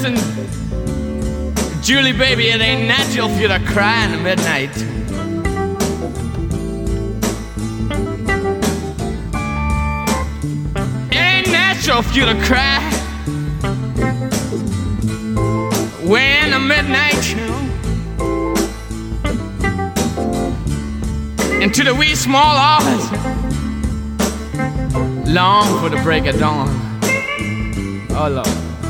listen, Julie, baby, it ain't natural for you to cry in the midnight. It ain't natural for you to cry way in the midnight, into the wee small hours, long for the break of dawn. Oh Lord.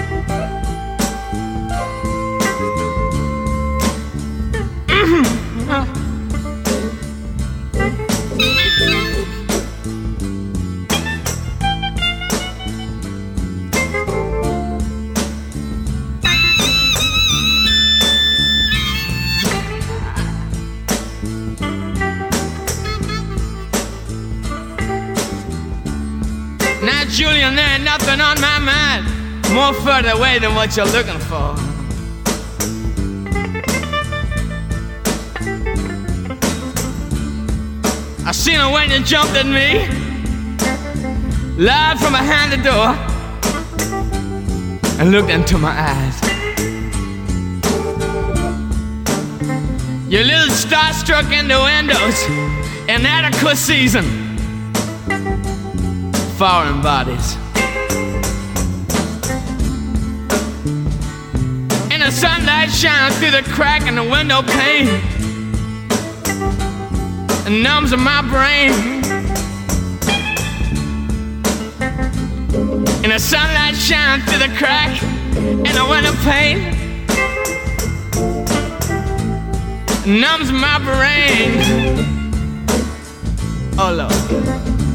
Now, Julian, there ain't nothing on my mind more further away than what you're looking for. I seen her when you jumped at me, live from behind the door, and looked into my eyes. Your little starstruck innuendos, inadequate season, foreign bodies. And the sunlight shines through the crack in the window pane and numbs my brain. And the sunlight shines through the crack in the window pane, numbs my brain. Oh Lord.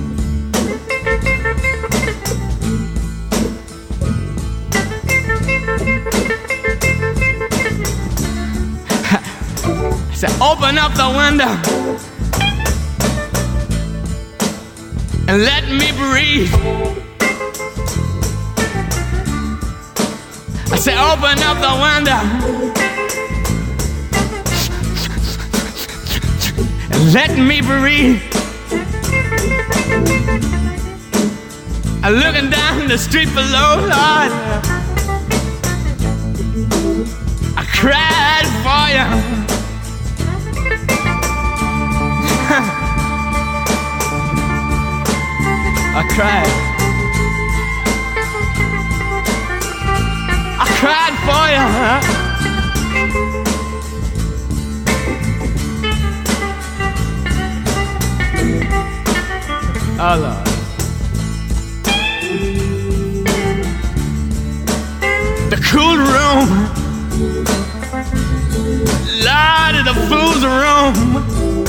I said, open up the window and let me breathe. I said, open up the window and let me breathe. I'm looking down the street below, Lord, I cried for you. I cried. I cried for you, huh? Oh Lord. The cool room, Lord, of the fool's room.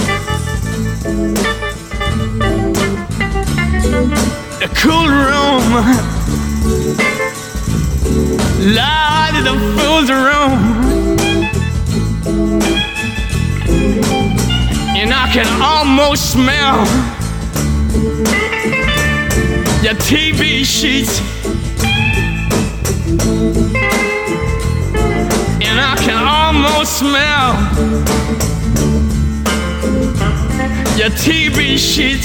The cool room, Lord, of the fool's room. And I can almost smell your TV sheets. And I can almost smell your TV sheets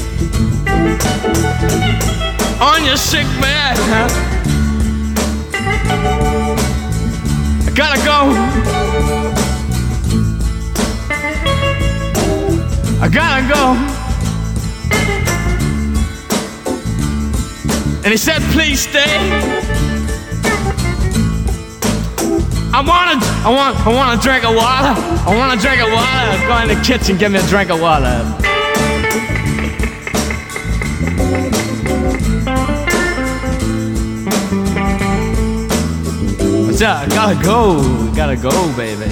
on your sick bed. I gotta go. I gotta go. And he said, please stay. I want a drink of water. I want a drink of water. Go in the kitchen, give me a drink of water. What's up? Gotta go, baby.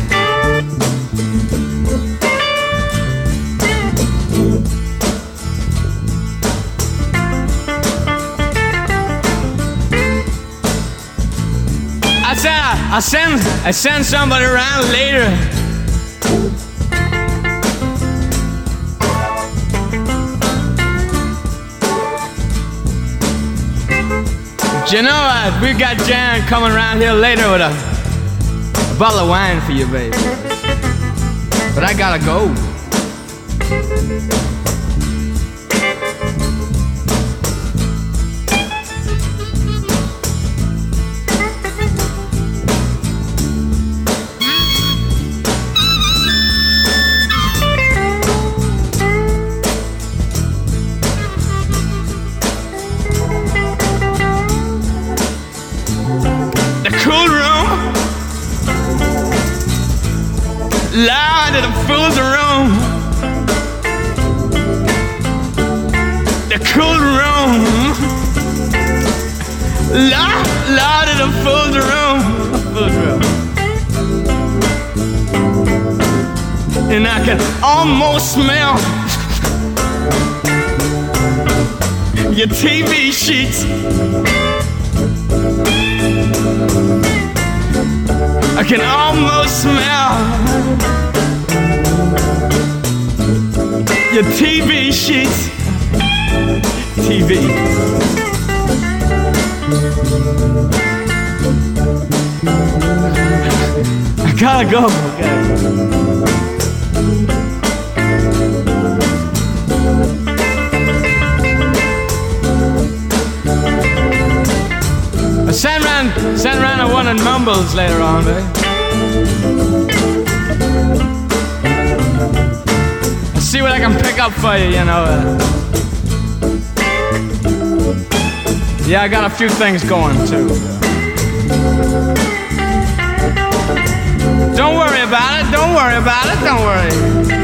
I send somebody around later. You know what? We got Jan coming around here later with a bottle of wine for you, baby. But I gotta go. loud in the fool's room. The cool room. Loud in the fool's room. Fool's room. And I can almost smell your TV sheets. I can almost smell your TV sheets. TV. I gotta go. Send round a one and mumbles later on, eh? I'll see what I can pick up for you, you know. Yeah, I got a few things going too. Don't worry about it, don't worry about it, don't worry.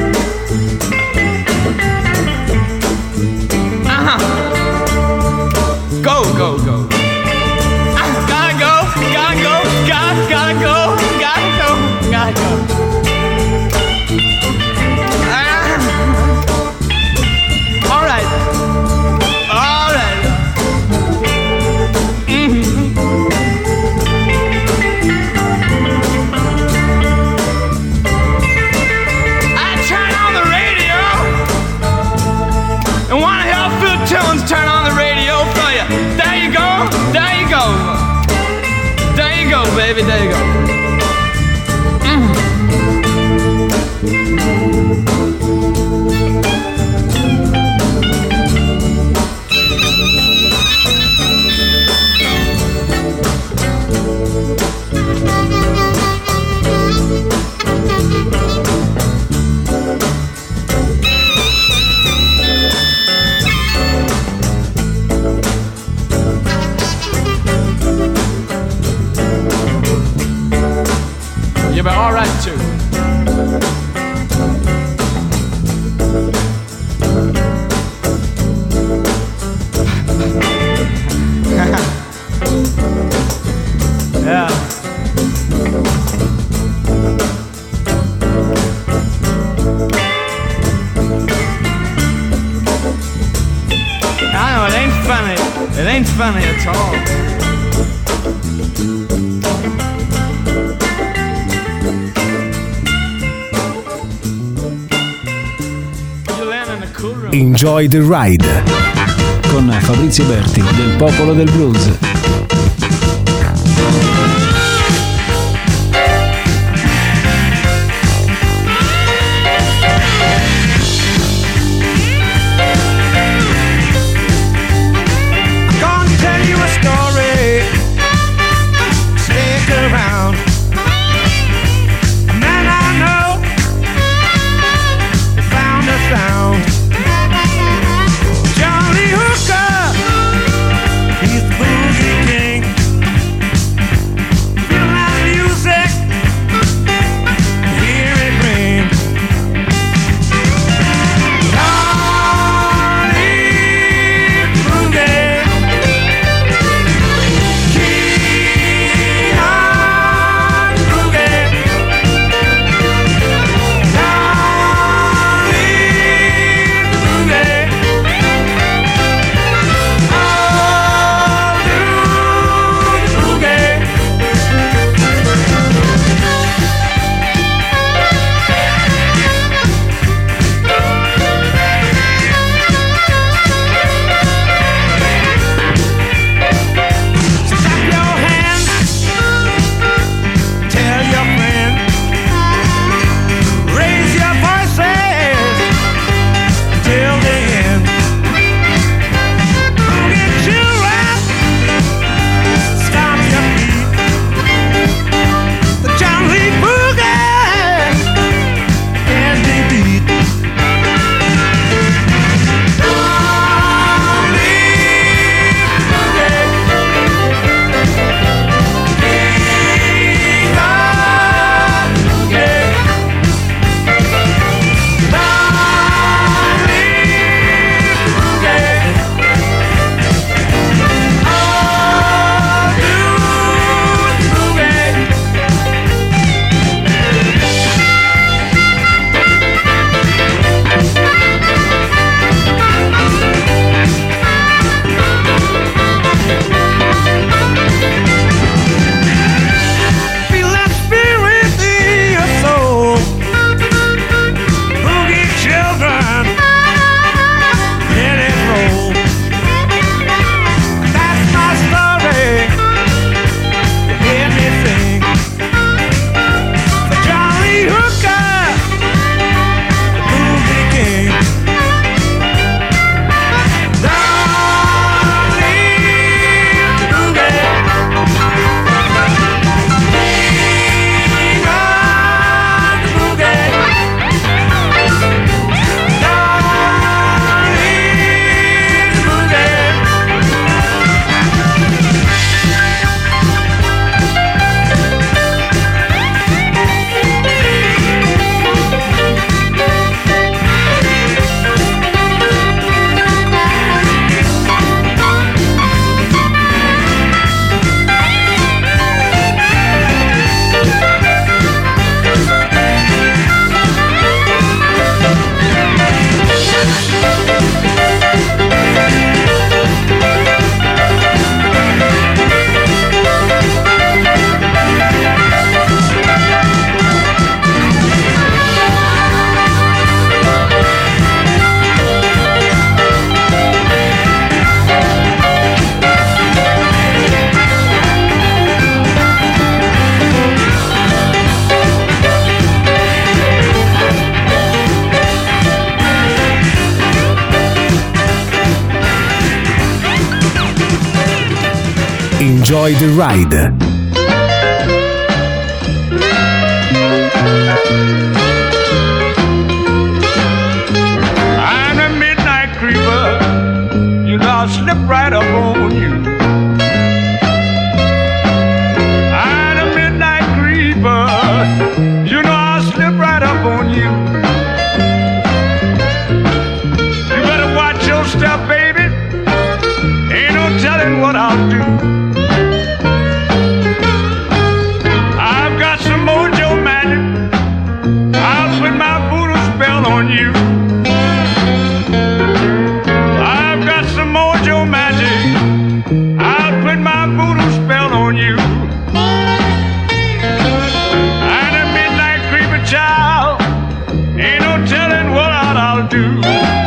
Go, go, go. Gotta go. All right. I turn on the radio and wanna hear a few tunes. Turn on the radio for you. There you go. There you go. There you go, baby. There you go. Yeah, but all right too. Yeah. I know it ain't funny. It ain't funny at all. Enjoy the Ride con Fabrizio Berti del Popolo del Blues. Johnny Hooker, he's the bluesy king. Enjoy the Ride. I'm a midnight creeper, you know I'll slip right up on you. I'm a midnight creeper, you know I'll slip right up on you. You better watch your step, baby, ain't no telling what I'll do. I've got some mojo magic, I'll put my voodoo spell on you. I've got some mojo magic, I'll put my voodoo spell on you. I'm a midnight creeper child, ain't no telling what I'll do.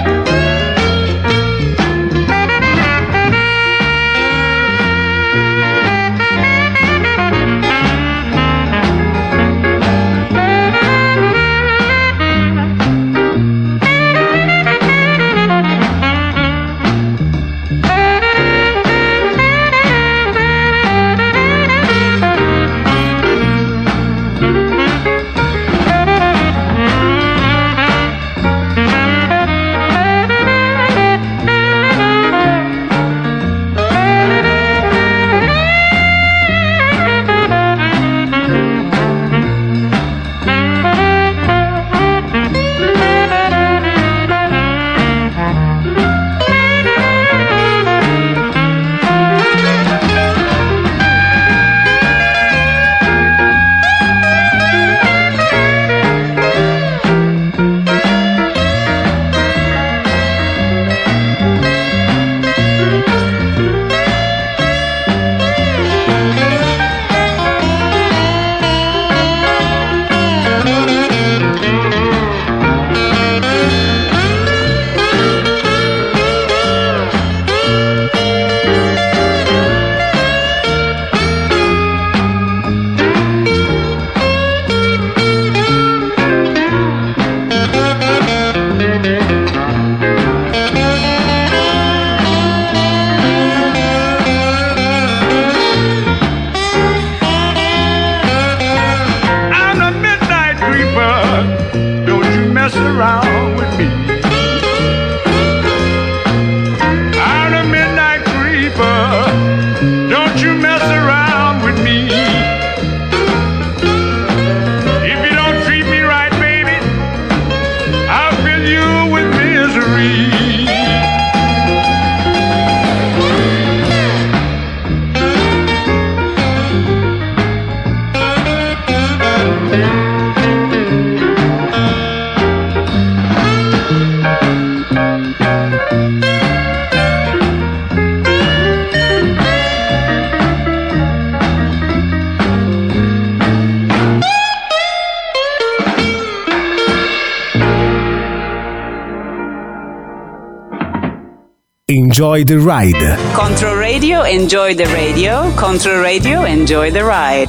Enjoy the Ride. Control Radio, enjoy the radio. Control Radio, enjoy the ride.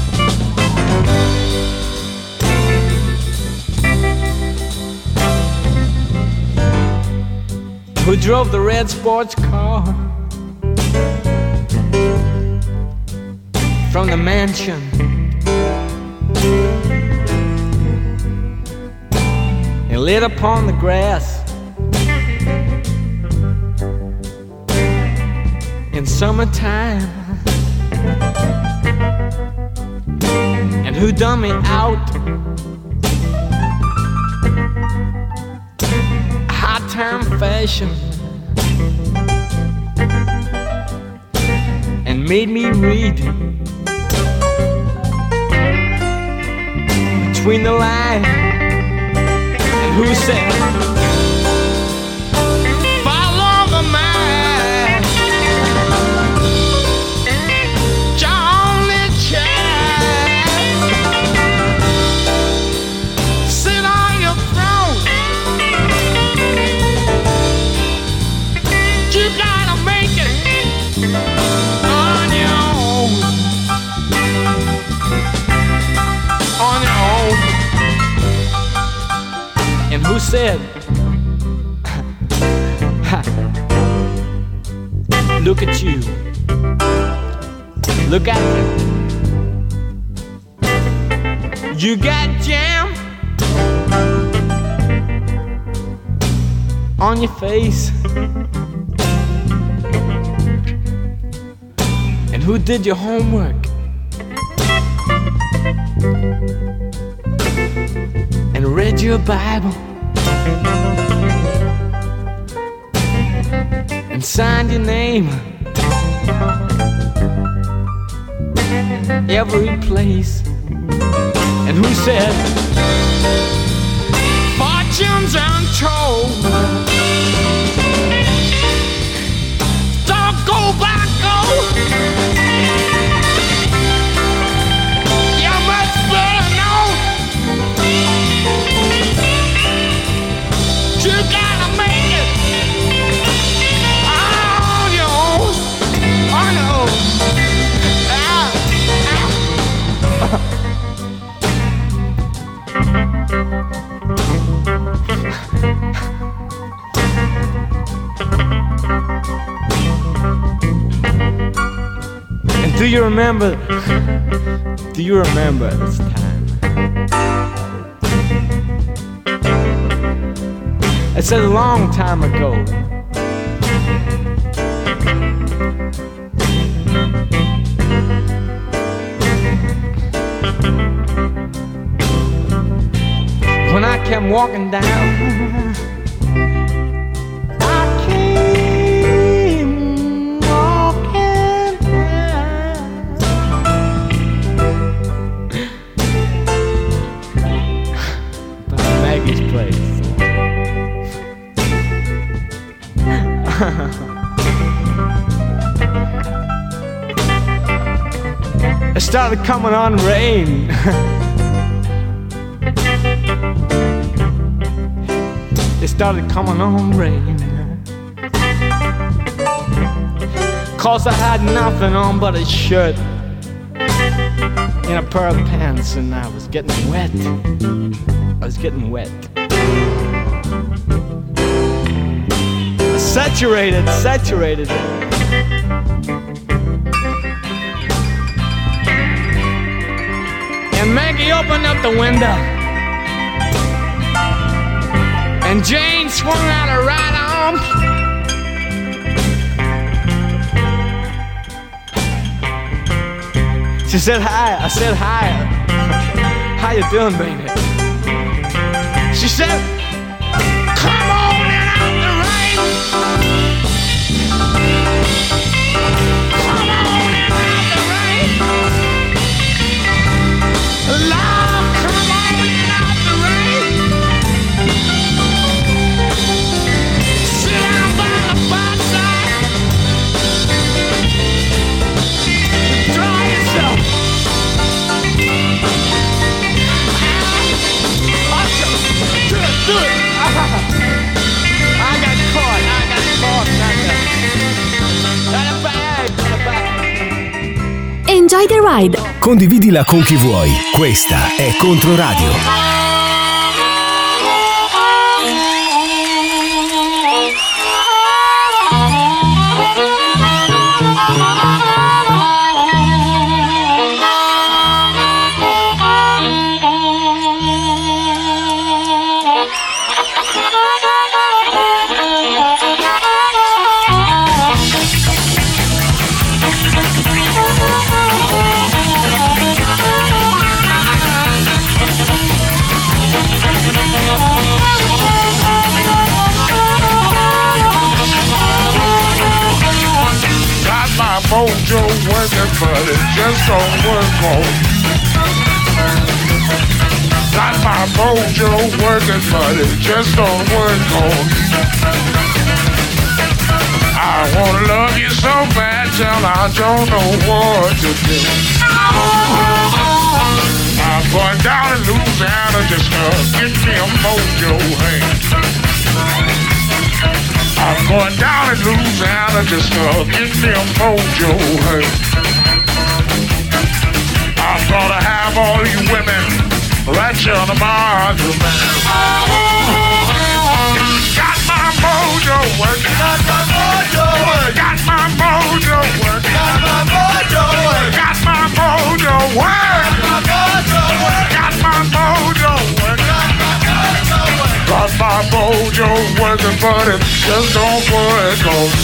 Who drove the red sports car from the mansion and lit upon the grass in summertime, and who done me out high time fashion and made me read between the lines, and who said follow the man, Johnny Child, sit on your throne, you gotta make it on your own, on your own. And who said look at you, Look at you. You got jam on your face. And who did your homework? And read your Bible and signed your name every place. And who said fortunes untold, don't go back, go. You must better know you gotta make it on your own, on your own. And do you remember this time? It's a long time ago. When I came walking down, I came walking down by Maggie's place. It started coming on rain. It started coming on rain. 'Cause I had nothing on but a shirt and a pair of pants, and I was getting wet. I was getting wet. Saturated. And Maggie opened up the window, and Jane swung out her right arm. She said hi. I said hi. How you doing, baby? She said, come on in out the rain. Come on in out the rain. Lord, come on in out the rain. Sit down by the fireside. Dry yourself. Do it. I got caught. Got a bag. Enjoy the ride. Condividila con chi vuoi. Questa è Controradio. Mojo working, but it just don't work on. Got my mojo working, but it just don't work on. I wanna love you so bad till I don't know what to do. I'm going down in Louisiana just to get me a mojo hand. I'm going down in Louisiana just to get me a mojo hand. I'm gonna have all you women right here on the bathroom. Got my mojo working. Got my mojo working. Got my mojo working. Got my mojo working. working, but it just don't work.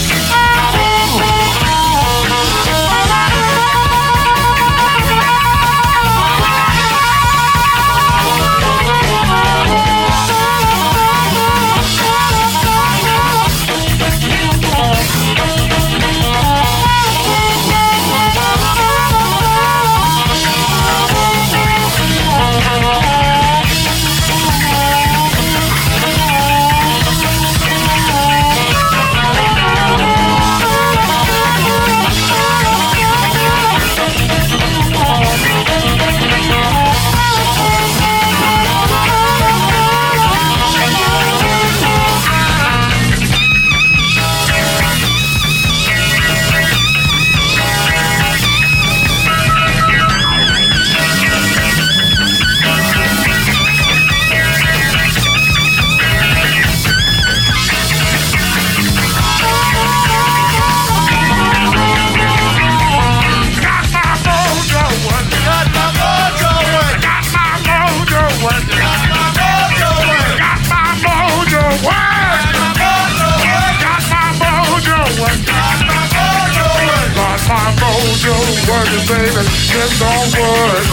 Working, baby, just don't work.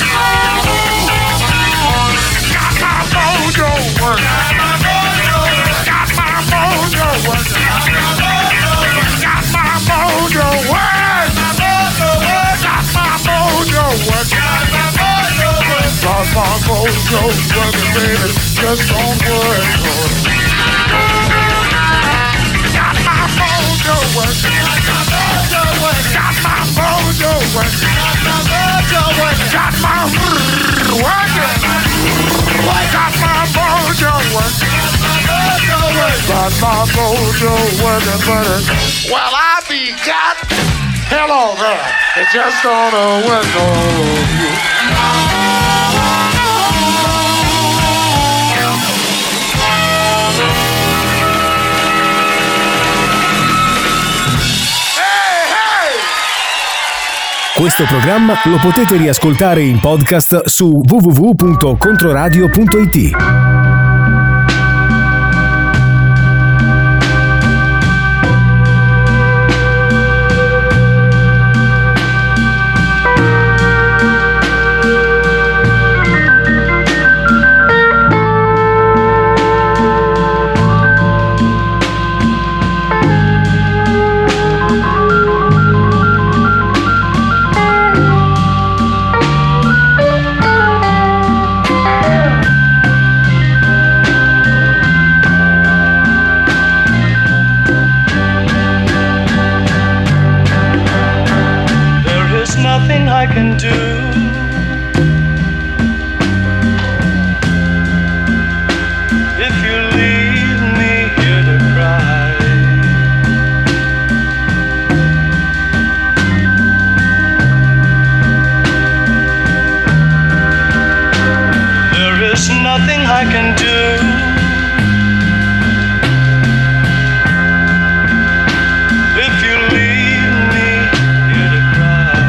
Got my mojo working. Got my mojo working. Got my mojo working. Got my mojo working. Got my mojo working, baby, just don't work. Got my mojo working. Got my mojo working. Got my working. Got my mojo working. Got my mojo working, but well, I be got hello there. It just don't work on you. Questo programma lo potete riascoltare in podcast su www.controradio.it. I can do. If you leave me here to cry, there is nothing I can do. If you leave me here to cry.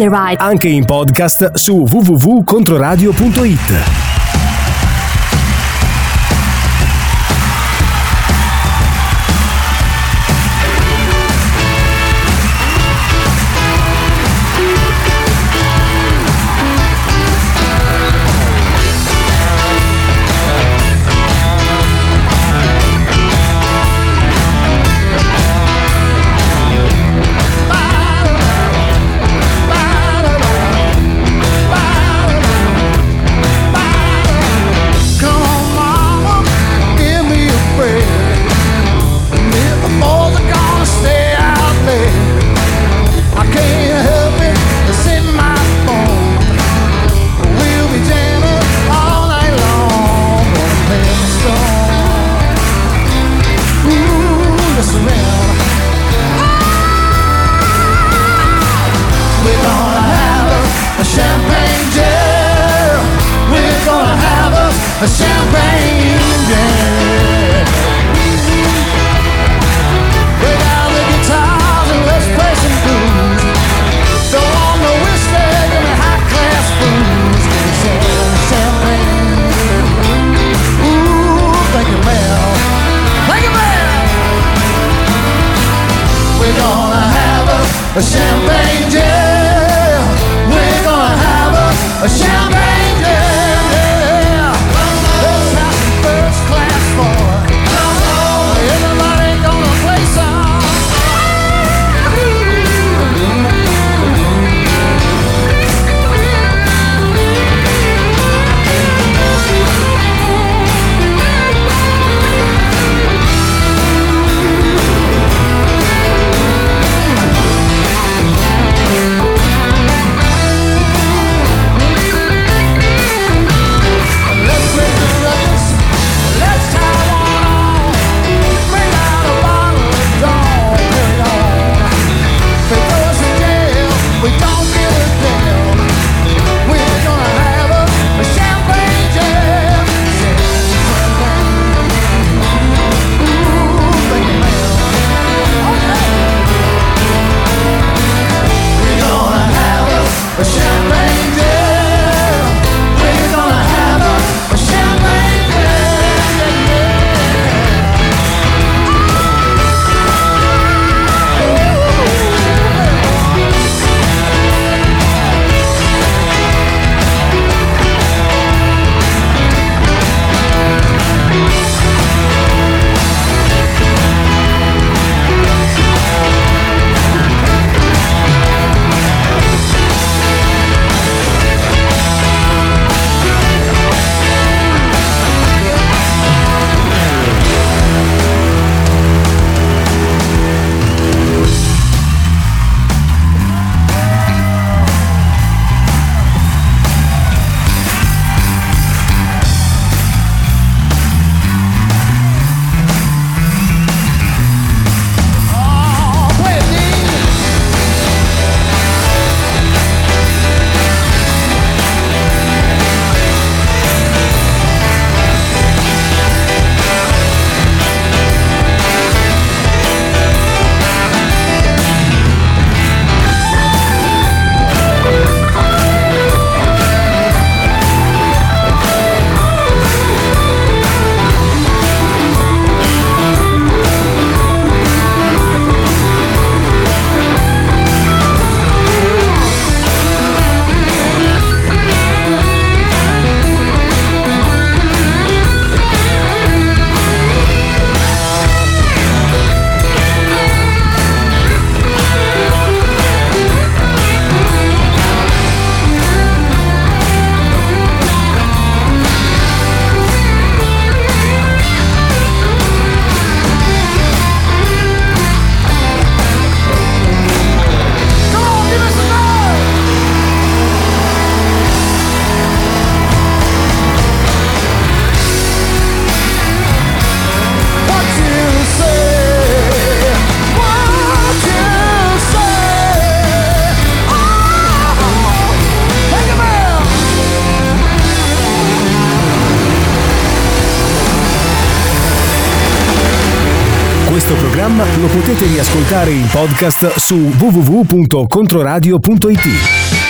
the Ride. Anche in podcast su www.controradio.it. A champagne jam. We're gonna have a champagne jam. Yeah. Let's have some first class fun. Everybody gonna play some. Questo programma lo potete riascoltare in podcast su www.controradio.it.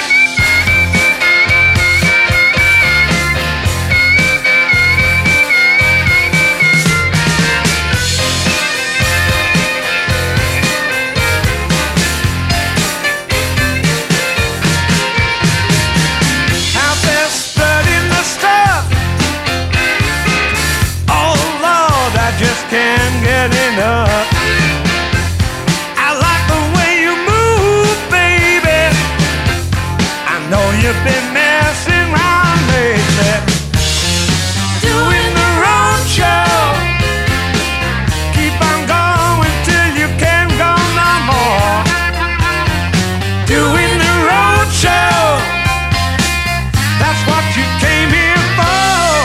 know you've been messing around lately, doing the road show. Keep on going till you can't go no more. Doing the road show. That's what you came here for.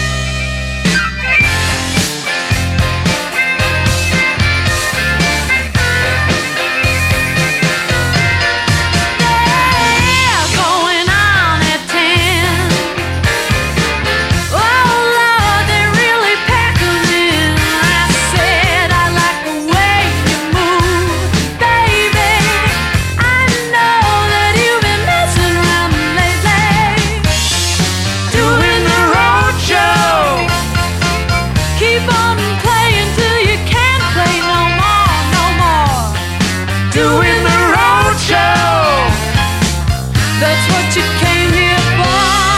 Yeah, going on at 10. Oh Lord, they really pack 'em in. I said I like the way you move, baby. I know that you've been messing around lately, Doing the road show. keep on playing till you can't play no more, no more. Doing the road show. That's what you came here for.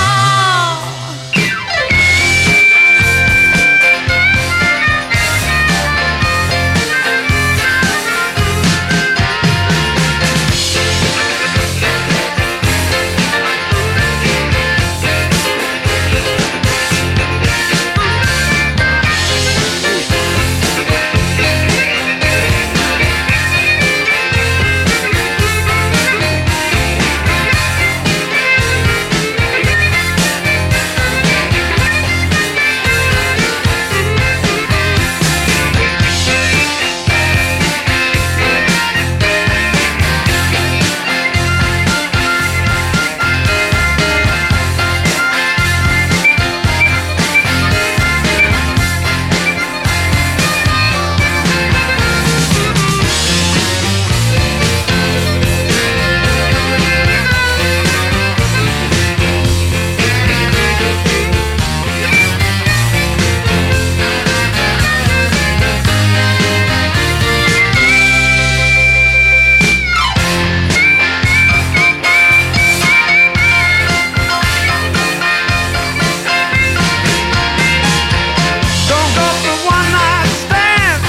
Don't go for one night stand,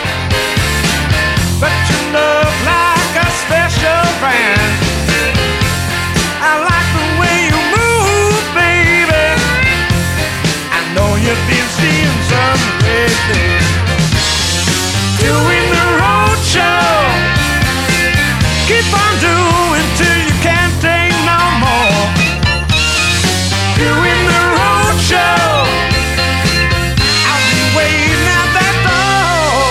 but you look like a special brand. I like the way you move, baby. I know you've been seeing some lately. Doing the road show. Keep on doing till you can't take no more. Doing the road show. I'll be waiting at that door.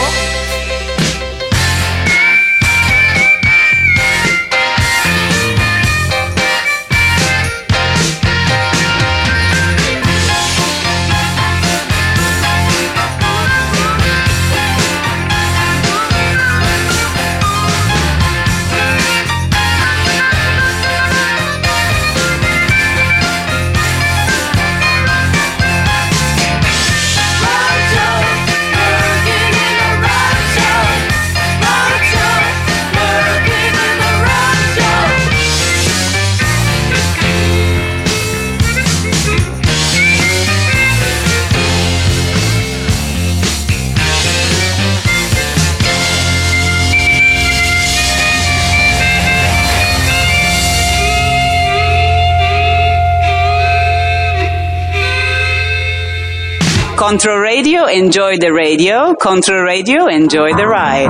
Control Radio, enjoy the radio. Control Radio, enjoy the ride.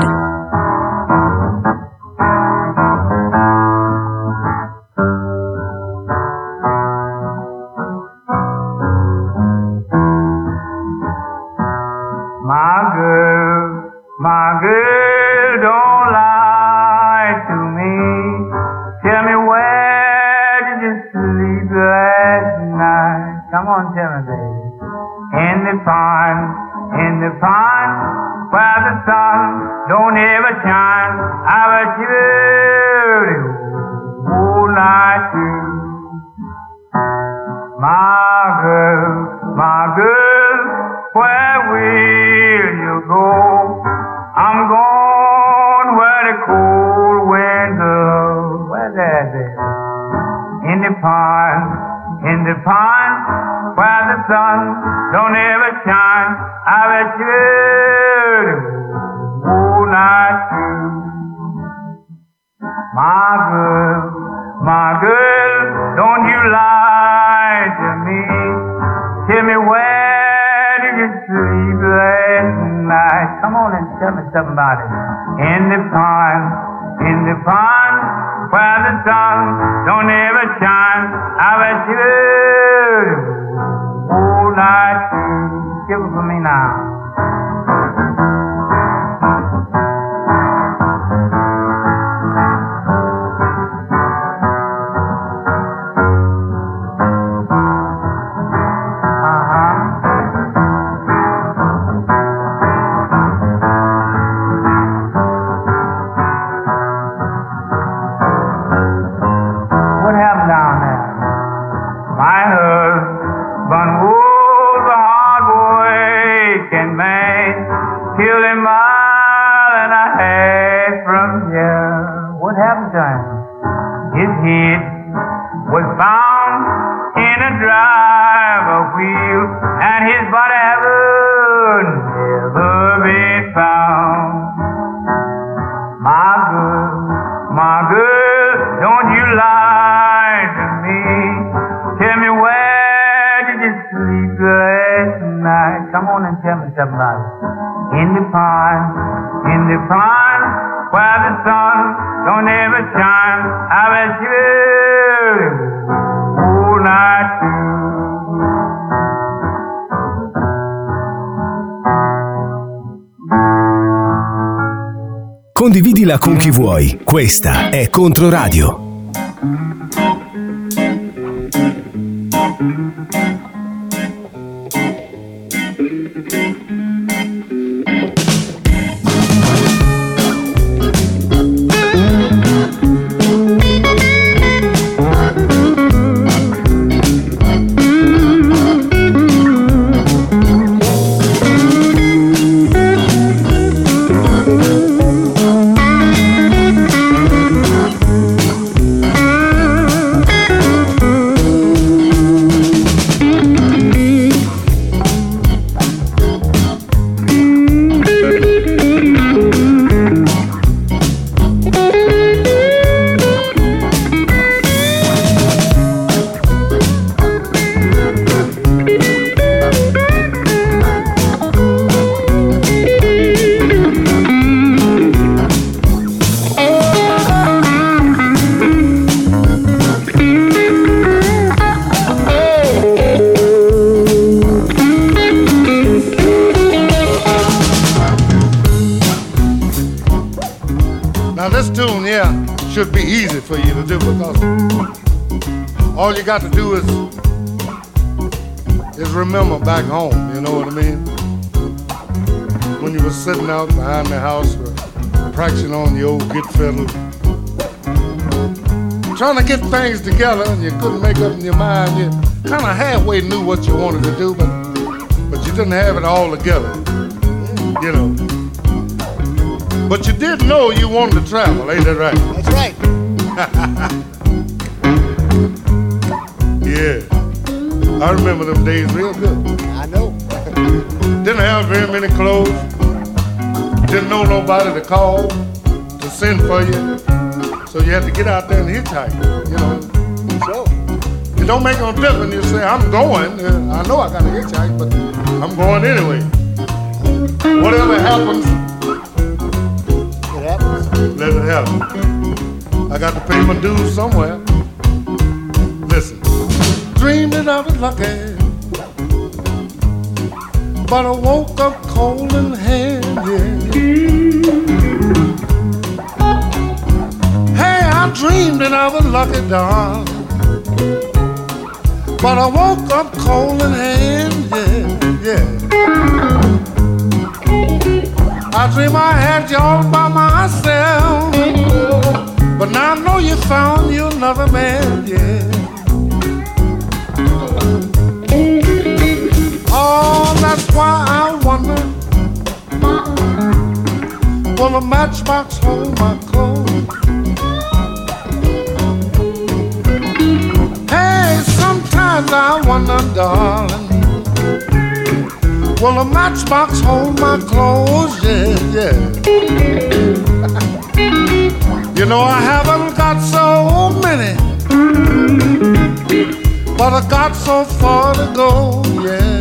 My girl, don't lie to me. Tell me where did you sleep last night? Come on, tell me, baby. In the pond, where the sun don't ever shine. I bet you the whole night through. My girl, where will you go? I'm going where the cold winds blow. Where's that, baby? In the pond, where the sun don't ever shine. I bet you the whole night through. My girl, don't you lie to me. Tell me where did you sleep last night? Come on and tell me something about it. In the pond, where the sun don't ever shine. I bet you all night. Give it for me now. His head was found in a driver wheel, and his body would never be found. My girl, don't you lie to me. Tell me where did you sleep last night? Come on and tell me something about it. In the pond, where the sun don't ever shine. I bet you all night Condividila con chi vuoi. Questa è Controradio. Should be easy for you to do because all you got to do is remember back home, you know what I mean? When you were sitting out behind the house practicing on the old git fiddle, trying to get things together and you couldn't make up in your mind. You kind of halfway knew what you wanted to do, but you didn't have it all together, you know. But you did know you wanted to travel, ain't that right? That's right. Yeah. I remember them days real good. I know. Didn't have very many clothes. Didn't know nobody to call, to send for you. So you had to get out there and hitchhike, you know. So? It don't make no difference. You say, I'm going. I know I got to hitchhike, but I'm going anyway. Whatever happens, let it happen. I got to pay my dues somewhere. Listen. Dreamed that I was lucky, but I woke up cold in hand, yeah. Hey, I dreamed that I was lucky, darling, but I woke up cold in hand, yeah. I dream I had you all by myself, but now I know you found you another man, yeah. Oh, that's why I wonder, will a matchbox hold my clothes? Hey, sometimes I wonder, darling, will a matchbox hold my clothes? Yeah. You know I haven't got so many but I got so far to go, yeah.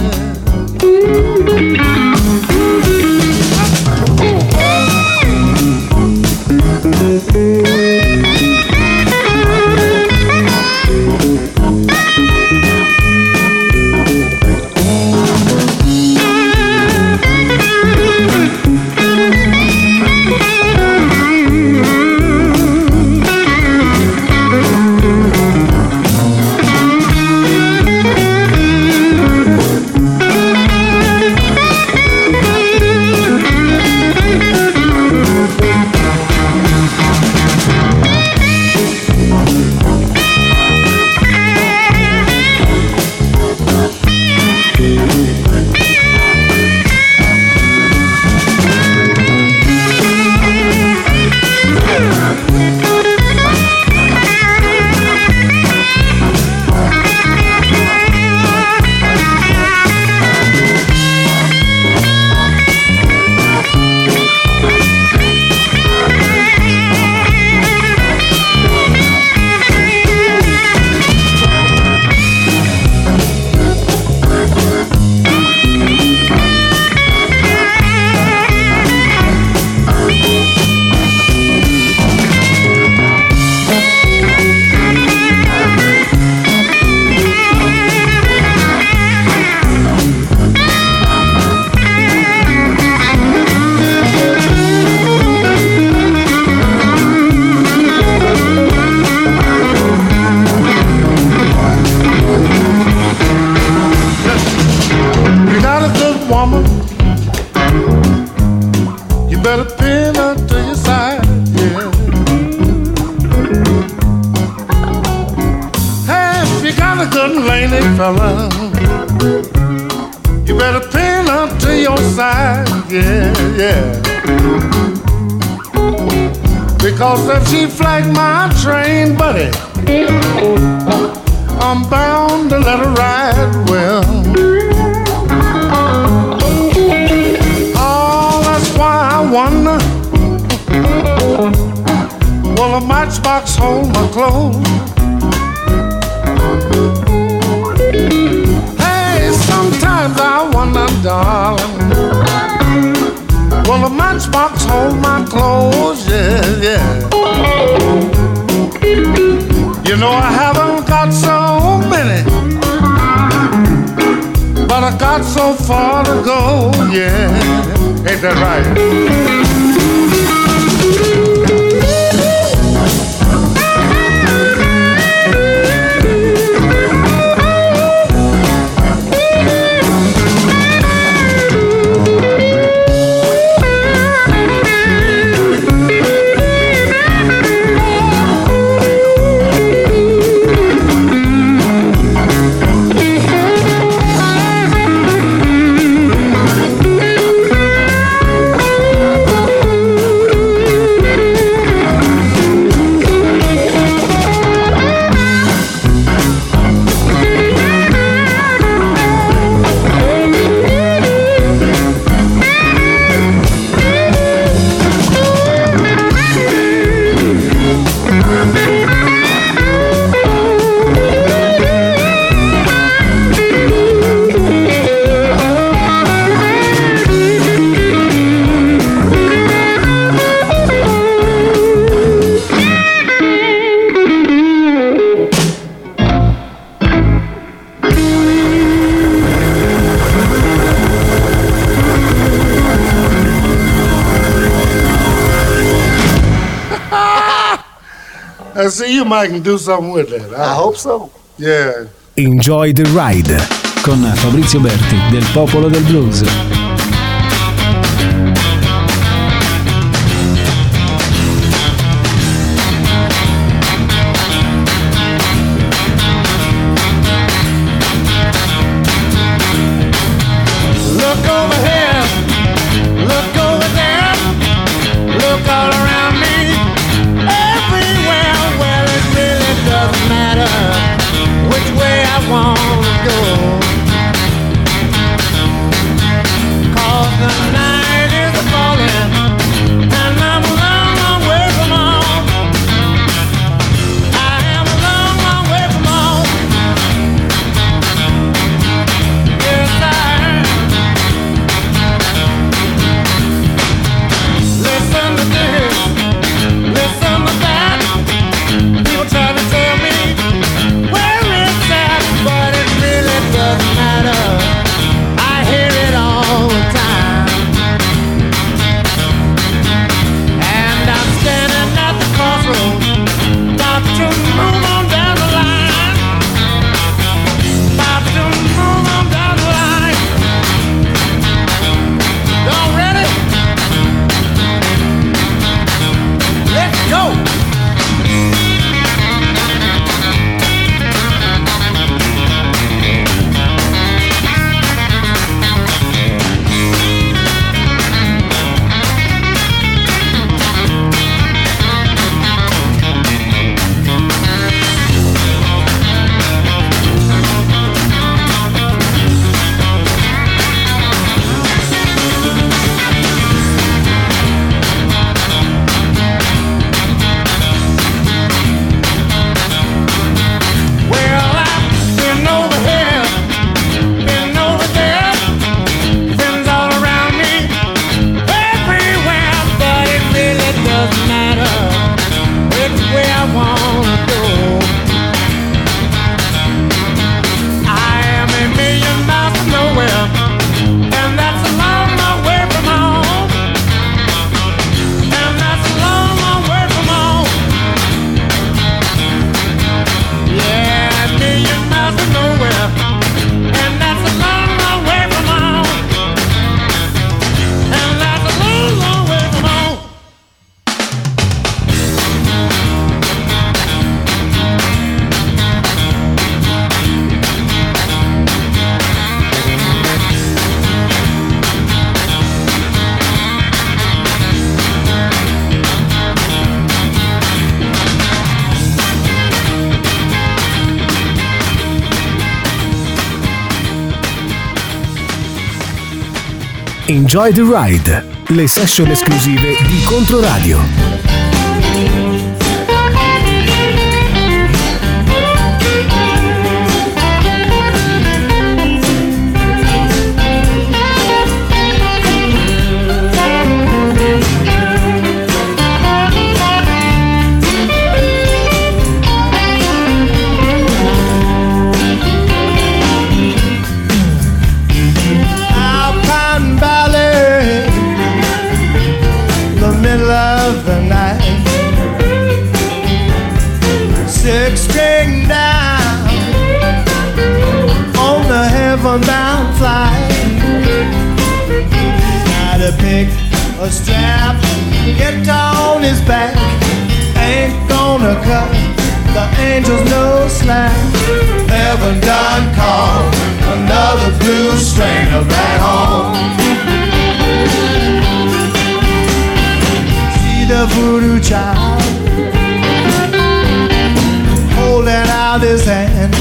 Because if she flag my train, buddy, I'm bound to let her ride well. Oh, that's why I wonder, will a matchbox hold my clothes? Hey, sometimes I wonder, darling, will a matchbox hold my clothes? Yeah, yeah. You know I haven't got so many, but I got so far to go, yeah. Ain't that right? I see you might can do something with that. I hope so. Yeah. Enjoy the Ride con Fabrizio Berti del Popolo del Blues. Look over here, look over there, look all around me, everywhere. Well, it really doesn't matter which way I want to go, 'cause the night is falling and I'm a long, long way from home. I am a long, long Enjoy the Ride, le session esclusive di Controradio. Bound flight. Got to pick a strap, get on his back. Ain't gonna cut the angels no slack. Heaven done called another blues stringer back home. See the voodoo child holding out his hand.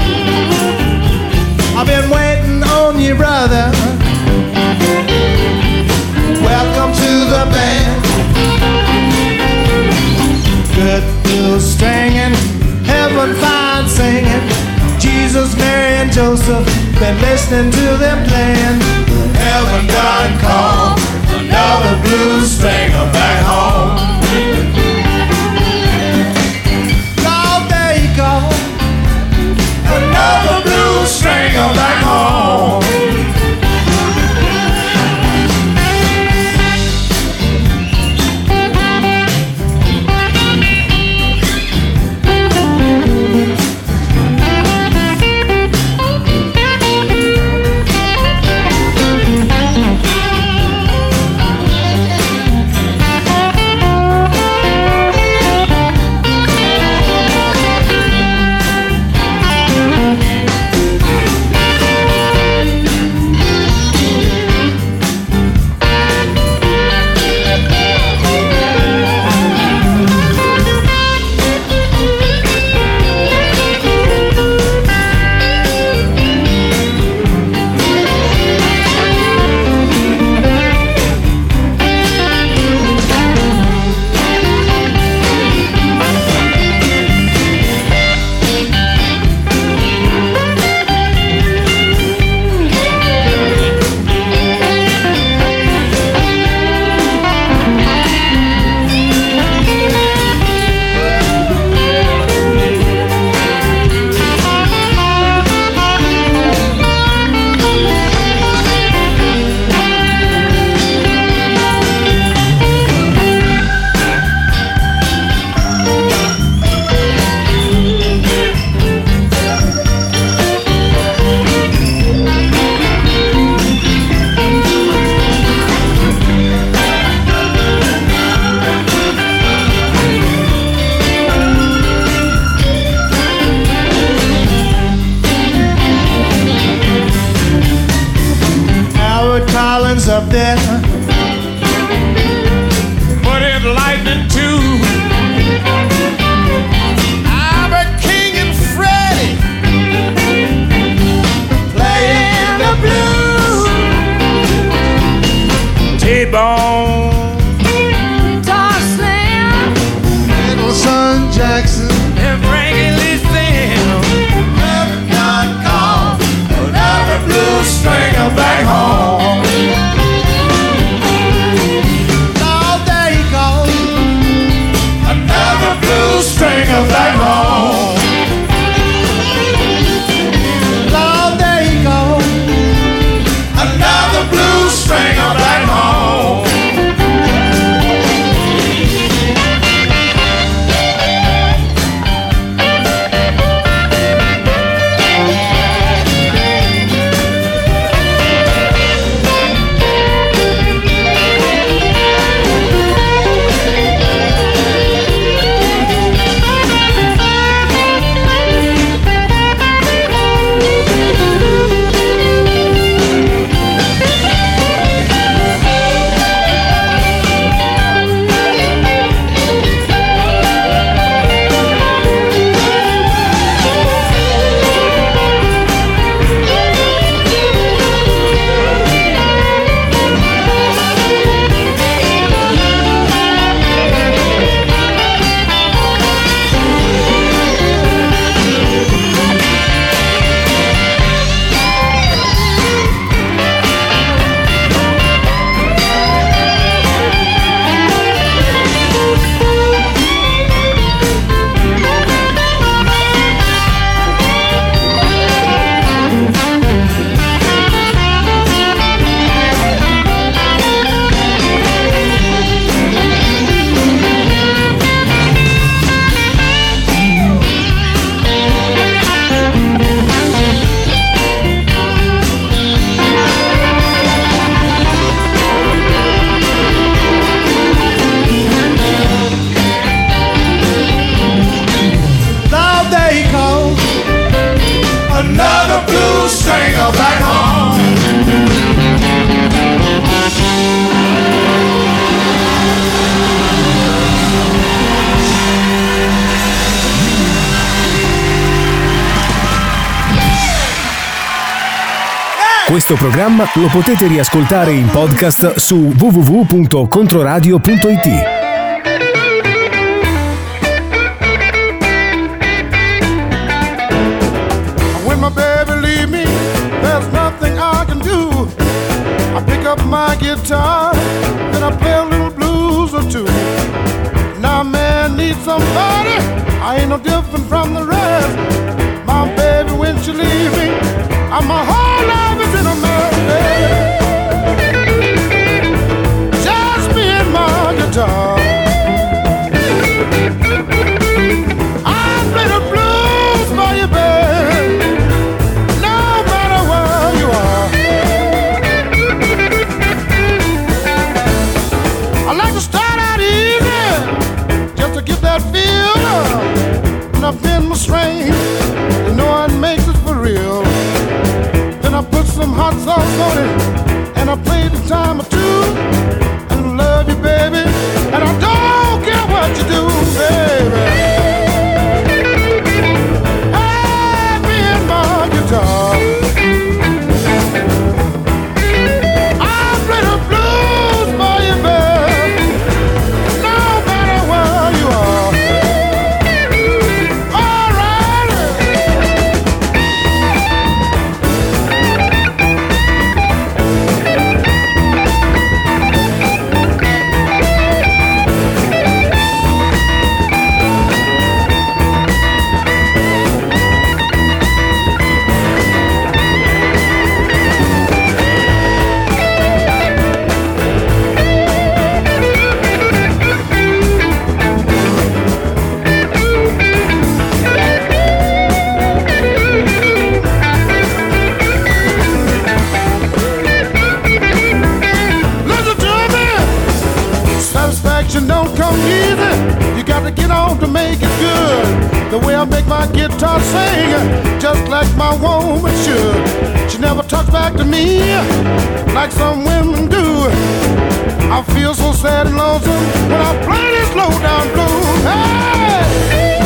I've been waiting on you, brother. Welcome to the band. Good blues stringing, heaven fine singing. Jesus, Mary, and Joseph, been listening to them playing. Heaven done called another blues stringer back home. Oh, there you go. Another blues stringer back home. Up there, put it lightning too. Albert King and Freddie playing the blues. T-Bone, Todd Slim, Middleton Jackson, and Frankie Lee Sam. Never not called another blues stringer back home. Questo programma lo potete riascoltare in podcast su www.controradio.it. When my baby leave me, there's nothing I can do. I pick up my guitar, then I play a little blues or two. Now man needs somebody, I ain't no different from the rest. My baby, when she leave me, my whole life is in a mess. Just me and my guitar. I play the blues for you, baby, no matter where you are. I like to start out easy, just to get that feel. And I've been my strain, you know it makes it for real. Then I put some hot sauce on it, and I play the time or two, and I love you, baby, and I don't care what you do, baby. Hey, me and my guitar, I play the blues for you, baby, no matter where you are. All right. Listen to me. Satisfaction don't come easy. You got to get on to make it good. The way I make my guitar sing, just like my woman should. She never talks back to me like some women do. I feel so sad and lonesome when I play this low down blues. Hey!